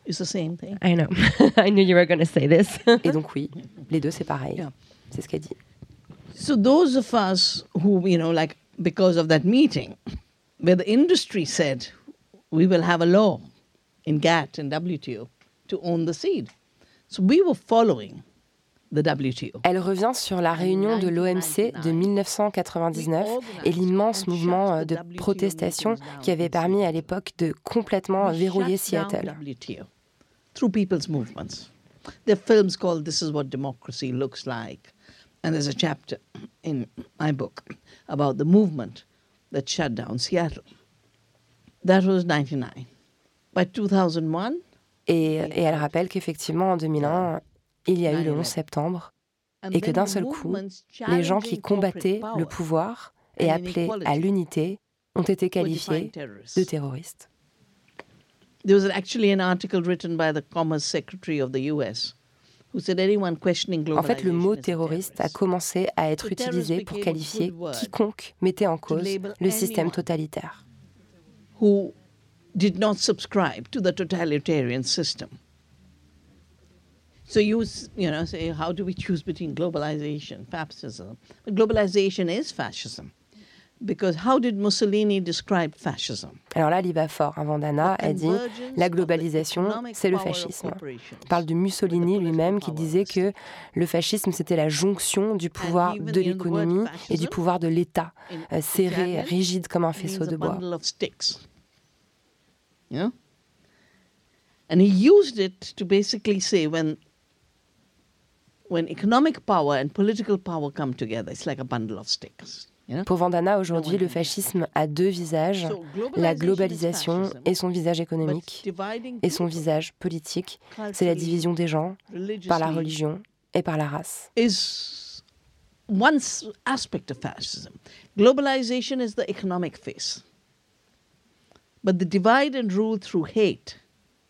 It's the same thing. I know. I knew you were going to say this. Et donc oui, les deux c'est pareil. Yeah. C'est ce qu'elle dit. So those of us who, you know, like because of that meeting, where the industry said, we will have a law in GATT and W T O to own the seed. So we were following the W T O. Elle revient sur la réunion de l'O M C de mille neuf cent quatre-vingt-dix-neuf et l'immense mouvement de protestation qui avait permis à l'époque de complètement verrouiller Seattle. Through people's movements. There are films called This is What Democracy Looks Like. And there's a chapter in my book about the movement that shut down Seattle. That was ninety-nine. By two thousand one... Et, et elle rappelle qu'effectivement, en deux mille un, il y a eu le onze septembre et que d'un seul coup, les gens qui combattaient le pouvoir et appelaient à l'unité ont été qualifiés de terroristes. There was actually an article written by the Commerce Secretary of the U S who said anyone questioning globalization. En fait, le mot terroriste a commencé à être utilisé pour qualifier quiconque mettait en cause le système totalitaire. Who did not subscribe to the totalitarian system. So you, you know, say, how do we choose between globalization, fascism? But globalization is fascism. Because how did Mussolini describe fascism? Alors là, elle y va fort. Hein, Vandana, elle dit la globalisation, c'est le fascisme. Elle parle de Mussolini lui-même qui disait que le fascisme, c'était la jonction du pouvoir de l'économie et du pouvoir de l'État, euh, serré, rigide comme un faisceau de bois. You know? And he used it to basically say when, when economic power and political power come together, it's like a bundle of sticks. Pour Vandana, aujourd'hui, le fascisme a deux visages, la globalisation et son visage économique, et son visage politique, c'est la division des gens par la religion et par la race. Is one aspect of fascism. Globalization is the economic face. But the divide and rule through hate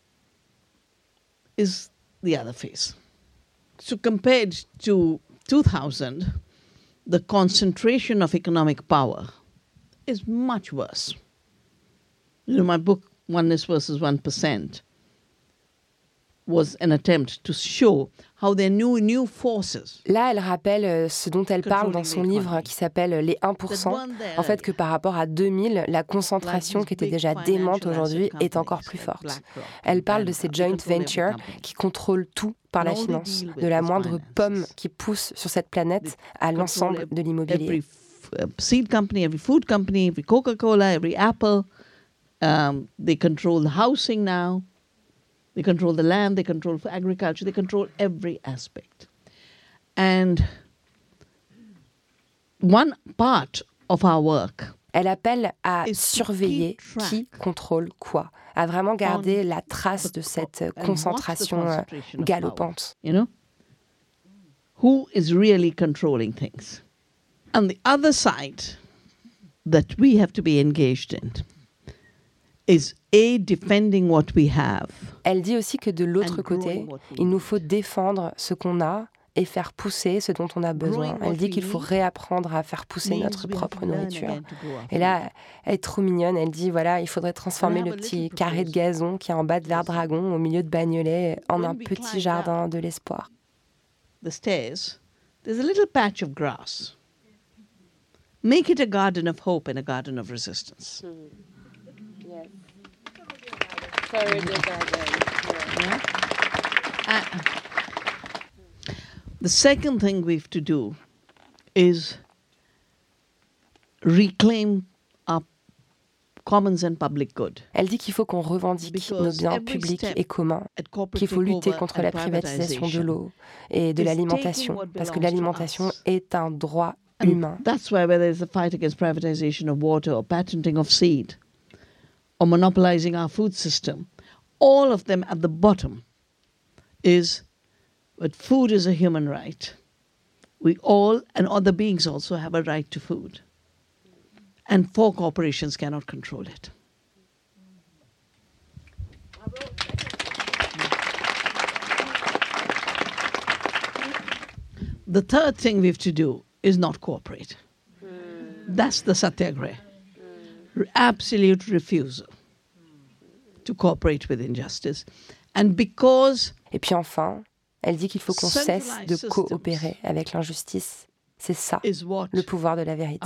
is the other face. So compared to two thousand, the concentration of economic power is much worse. You know, my book, Oneness versus one percent, was an attempt to show how there are new, new forces. Là, elle rappelle ce dont elle parle dans son livre qui s'appelle Les un pour cent. En fait, que par rapport à deux mille, la concentration qui était déjà démente aujourd'hui est encore plus forte. Elle parle de ces joint ventures qui contrôlent tout par la finance, de la moindre pomme qui pousse sur cette planète à l'ensemble de l'immobilier. Every seed company, every food company, every Coca-Cola, every Apple, um, they control the housing now. They control the land, they control agriculture, they control every aspect. And one part of our work, elle appelle à surveiller qui contrôle quoi, à vraiment garder la trace de cette concentration galopante. You know, who is really controlling things? And the other side that we have to be engaged in is a defending what we have. Elle dit aussi que de l'autre côté, il nous faut défendre ce qu'on a et faire pousser ce dont on a besoin. Elle dit qu'il faut réapprendre à faire pousser notre propre nourriture. Et là, elle est trop mignonne. Elle dit, voilà, il faudrait transformer le petit carré de gazon qui est en bas de Verdragon, au milieu de Bagnolet, en un petit jardin de l'espoir. The stairs, there's a little patch of grass. Make it a garden of hope and a garden of resistance. Mm. Yes. Sorry, yeah. uh, the second thing we have to do is reclaim our commons and public good. Elle dit qu'il faut qu'on revendique nos biens publics et communs, qu'il faut lutter contre la privatisation de l'eau et de l'alimentation, parce que l'alimentation est un droit humain. That's why whether it's a fight against privatization of water or patenting of seed, or monopolizing our food system, all of them at the bottom is that food is a human right. We all, and other beings also, have a right to food. And four corporations cannot control it. The third thing we have to do is not cooperate. Mm. That's the satyagraha. Mm. Absolute refusal to cooperate with injustice. And because Et puis enfin, elle dit qu'il faut qu'on cesse de coopérer avec l'injustice. C'est ça, le pouvoir de la vérité.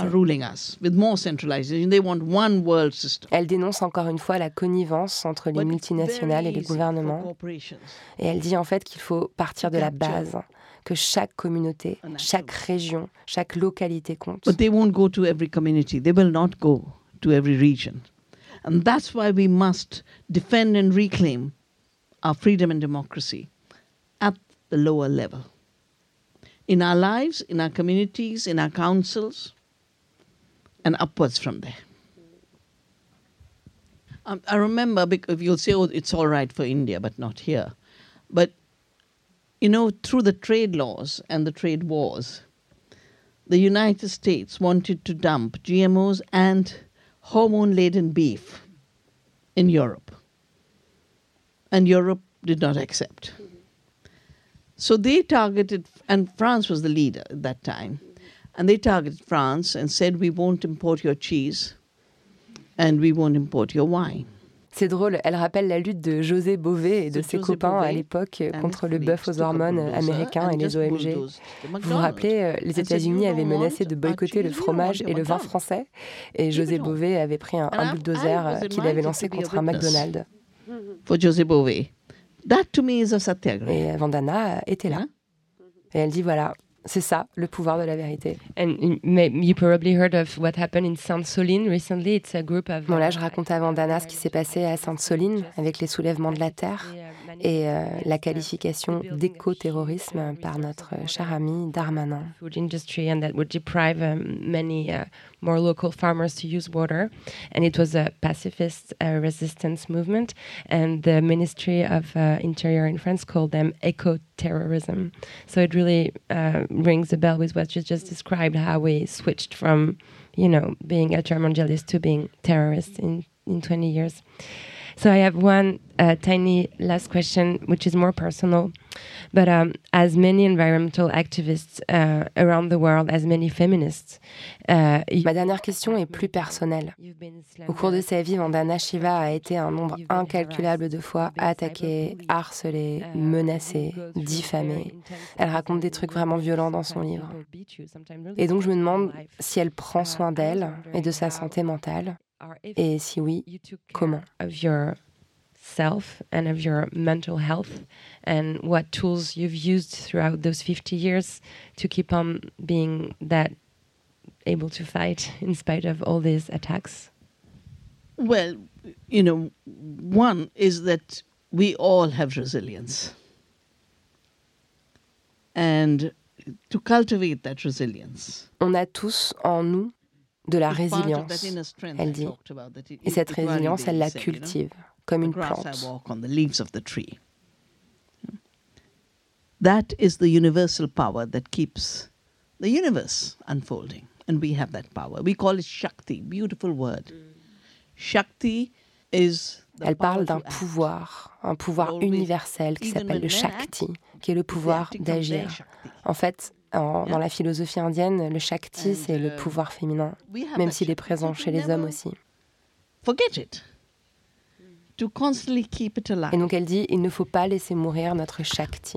Elle dénonce encore une fois la connivence entre les multinationales et les gouvernements. Et elle dit en fait qu'il faut partir de la base, que chaque communauté, chaque région, chaque localité compte. But they won't go to every community. They will not go to every region. And that's why we must defend and reclaim our freedom and democracy at the lower level. In our lives, in our communities, in our councils, and upwards from there. Um, I remember, because you'll say, oh, it's all right for India, but not here. But, you know, through the trade laws and the trade wars, the United States wanted to dump G M Os and hormone-laden beef in Europe. And Europe did not accept. So they targeted, and France was the leader at that time, and they targeted France and said, we won't import your cheese and we won't import your wine. C'est drôle, elle rappelle la lutte de José Bové et de ses copains à l'époque contre le bœuf aux hormones américain et les O M G. Vous vous rappelez, les États-Unis avaient menacé de boycotter le fromage et le vin français, et José Bové avait pris un, un bulldozer qu'il avait lancé contre un McDonald's. For José Bové. That to me is a satyagraha. Et Vandana était là. Et elle dit voilà, c'est ça, le pouvoir de la vérité. And you probably heard of what happened in Sainte-Soline recently. It's a group of. Bon là, je raconte à Vandana ce qui s'est passé à Sainte-Soline avec les soulèvements de la terre et euh, la qualification d'éco-terrorisme par notre cher ami Darmanin. Food industry and that would deprive um, many uh, more local farmers to use water, and it was a pacifist uh, resistance movement, and the Ministry of uh, Interior in France called them eco-terrorism. So it really uh, rings a bell with what you just described, how we switched from, you know, being ultramondialist to being terrorists in, in twenty years. So I have one uh, tiny last question, which is more personal. But um, as many environmental activists uh, around the world, as many feminists... Uh, Ma dernière question est plus personnelle. Au cours de sa vie, Vandana Shiva a été un nombre incalculable de fois attaquée, harcelée, menacée, diffamée. Elle raconte des trucs vraiment violents dans son livre. Et donc je me demande si elle prend soin d'elle et de sa santé mentale. Et si oui, comment? Of your self and of your mental health, and what tools you've used throughout those fifty years to keep on being that able to fight in spite of all these attacks? Well, you know, one is that we all have resilience. And to cultivate that resilience. On a tous en nous de la résilience, elle dit. Et cette résilience, elle la cultive, comme une plante. That is the universal power that keeps the universe unfolding. And we have that power. We call it Shakti, beautiful word. Shakti is... Elle parle d'un pouvoir, un pouvoir universel qui s'appelle le Shakti, qui est le pouvoir d'agir. En fait, En, dans la philosophie indienne, le Shakti, c'est le pouvoir féminin, même s'il est présent chez les hommes aussi. Et donc elle dit, il ne faut pas laisser mourir notre Shakti.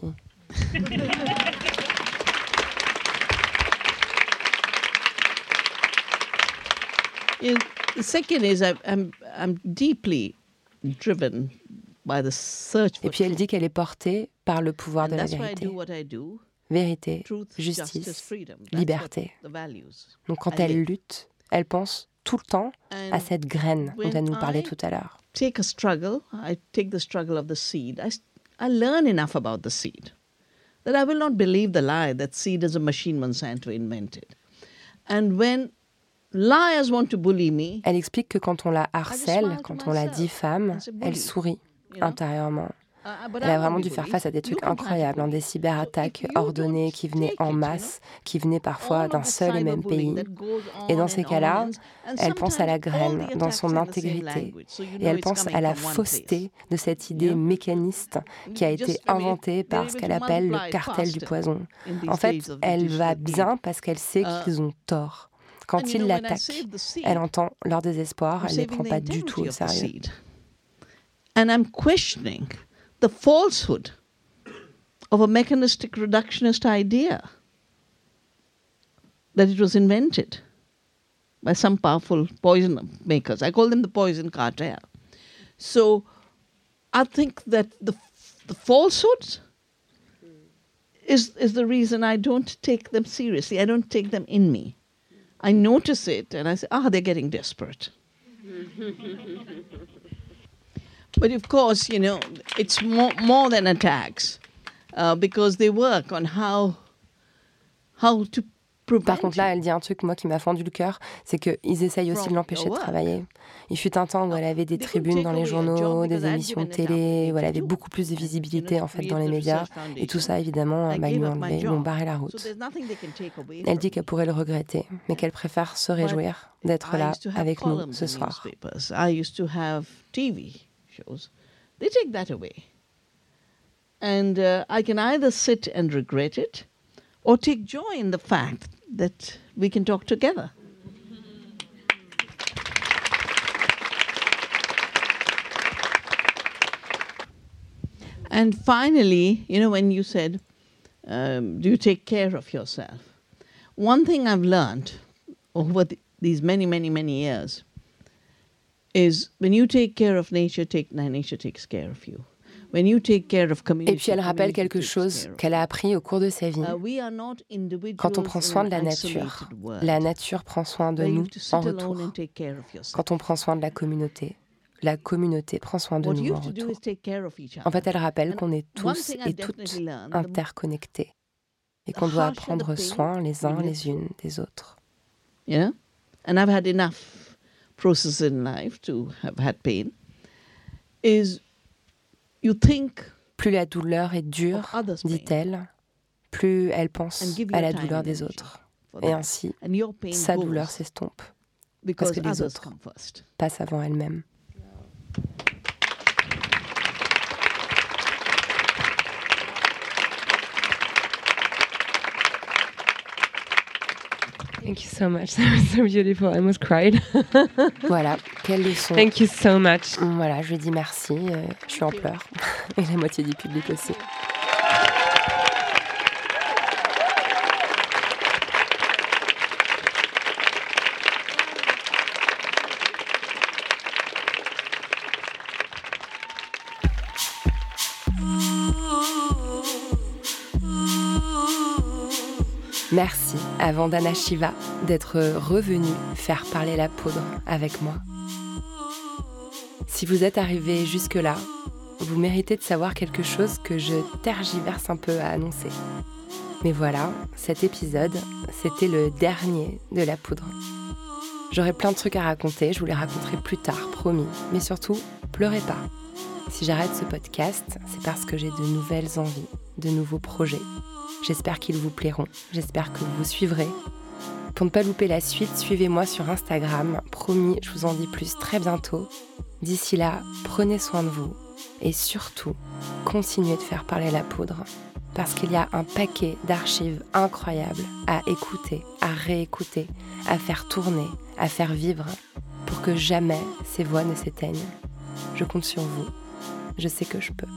The second is I'm, I'm deeply driven by the search for. Et puis elle dit qu'elle est portée par le pouvoir de la vérité. Vérité, justice, liberté. Donc quand elle lutte, elle pense tout le temps à cette graine dont elle nous parlait tout à l'heure. Take a struggle, I take the struggle of the seed. I, I learn enough about the seed that I will not believe the lie that seed is a machine Monsanto invented. And when liars want to bully me, elle explique que quand on la harcèle, quand on la diffame, elle sourit intérieurement. Elle a vraiment dû faire face à des trucs incroyables, hein, des cyberattaques ordonnées qui venaient en masse, qui venaient parfois d'un seul et même pays. Et dans ces cas-là, elle pense à la graine, dans son intégrité. Et elle pense à la fausseté de cette idée mécaniste qui a été inventée par ce qu'elle appelle le cartel du poison. En fait, elle va bien parce qu'elle sait qu'ils ont tort. Quand ils l'attaquent, elle entend leur désespoir, elle ne les prend pas du tout au sérieux. And I'm questioning the the falsehood of a mechanistic reductionist idea that it was invented by some powerful poison makers. I call them the poison cartel. So I think that the the falsehoods is is the reason I don't take them seriously. I don't take them in me. I notice it and I say, ah, they're getting desperate. But of course, you know, it's more, more than attacks uh, because they work on how, how to Par contre, là, elle dit un truc, moi, qui m'a fendu le cœur, c'est qu'ils essayent aussi de l'empêcher de travailler. Il fut un temps où elle avait des tribunes dans les journaux, des émissions de télé, où elle avait beaucoup plus de visibilité, en fait, dans les médias. Et tout ça, évidemment, bah, ils lui ont enlevé, ils lui ont barré la route. Elle dit qu'elle pourrait le regretter, mais qu'elle préfère se réjouir d'être là avec nous ce soir. I used to have T V shows. They take that away. And uh, I can either sit and regret it, or take joy in the fact that we can talk together. And finally, you know, when you said, um, do you take care of yourself? One thing I've learned over the, these many, many, many years is when you take care of nature, take, nature takes care of you. Et puis elle rappelle quelque chose qu'elle a appris au cours de sa vie. Quand on prend soin de la nature, la nature prend soin de nous en retour. Quand on prend soin de la communauté, la communauté prend soin de nous en retour. En fait, elle rappelle qu'on est tous et toutes interconnectés et qu'on doit prendre soin les uns les unes des autres. Yeah, and I've had enough processes in life to have had pain. Is You think plus la douleur est dure, dit-elle, plus elle pense à la douleur des autres. Et ainsi, sa douleur s'estompe, parce que les autres passent avant elle-même. Thank you so much. That was so beautiful. I almost cried. Voilà, quelle leçon. Thank you so much. Voilà, je lui dis merci. Euh, je suis en pleurs. Et la moitié du public aussi. Merci à Vandana Shiva d'être revenue faire parler la poudre avec moi. Si vous êtes arrivé jusque-là, vous méritez de savoir quelque chose que je tergiverse un peu à annoncer. Mais voilà, cet épisode, c'était le dernier de la poudre. J'aurais plein de trucs à raconter, je vous les raconterai plus tard, promis. Mais surtout, pleurez pas. Si j'arrête ce podcast, c'est parce que j'ai de nouvelles envies, de nouveaux projets. J'espère qu'ils vous plairont, j'espère que vous vous suivrez. Pour ne pas louper la suite, suivez-moi sur Instagram. Promis, je vous en dis plus très bientôt. D'ici là, prenez soin de vous. Et surtout, continuez de faire parler la poudre. Parce qu'il y a un paquet d'archives incroyables à écouter, à réécouter, à faire tourner, à faire vivre, pour que jamais ces voix ne s'éteignent. Je compte sur vous. Je sais que je peux.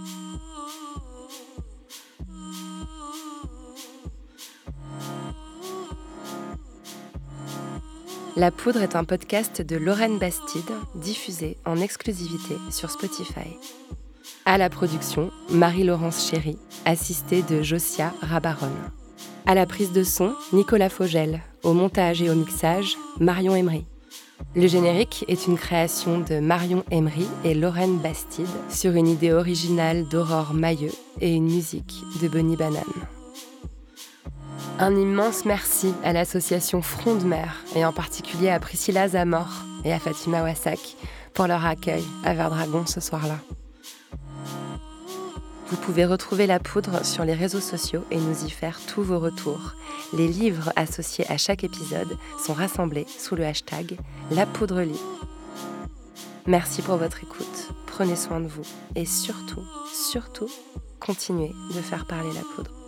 La Poudre est un podcast de Lorraine Bastide, diffusé en exclusivité sur Spotify. À la production, Marie-Laurence Chéry, assistée de Josia Rabaron. À la prise de son, Nicolas Fogel. Au montage et au mixage, Marion Emery. Le générique est une création de Marion Emery et Lorraine Bastide sur une idée originale d'Aurore Mailleux et une musique de Bonnie Banane. Un immense merci à l'association Front de Mer et en particulier à Priscilla Zamor et à Fatima Wassak pour leur accueil à Verdragon ce soir-là. Vous pouvez retrouver La Poudre sur les réseaux sociaux et nous y faire tous vos retours. Les livres associés à chaque épisode sont rassemblés sous le hashtag La Poudre lit. Merci pour votre écoute, prenez soin de vous et surtout, surtout, continuez de faire parler la poudre.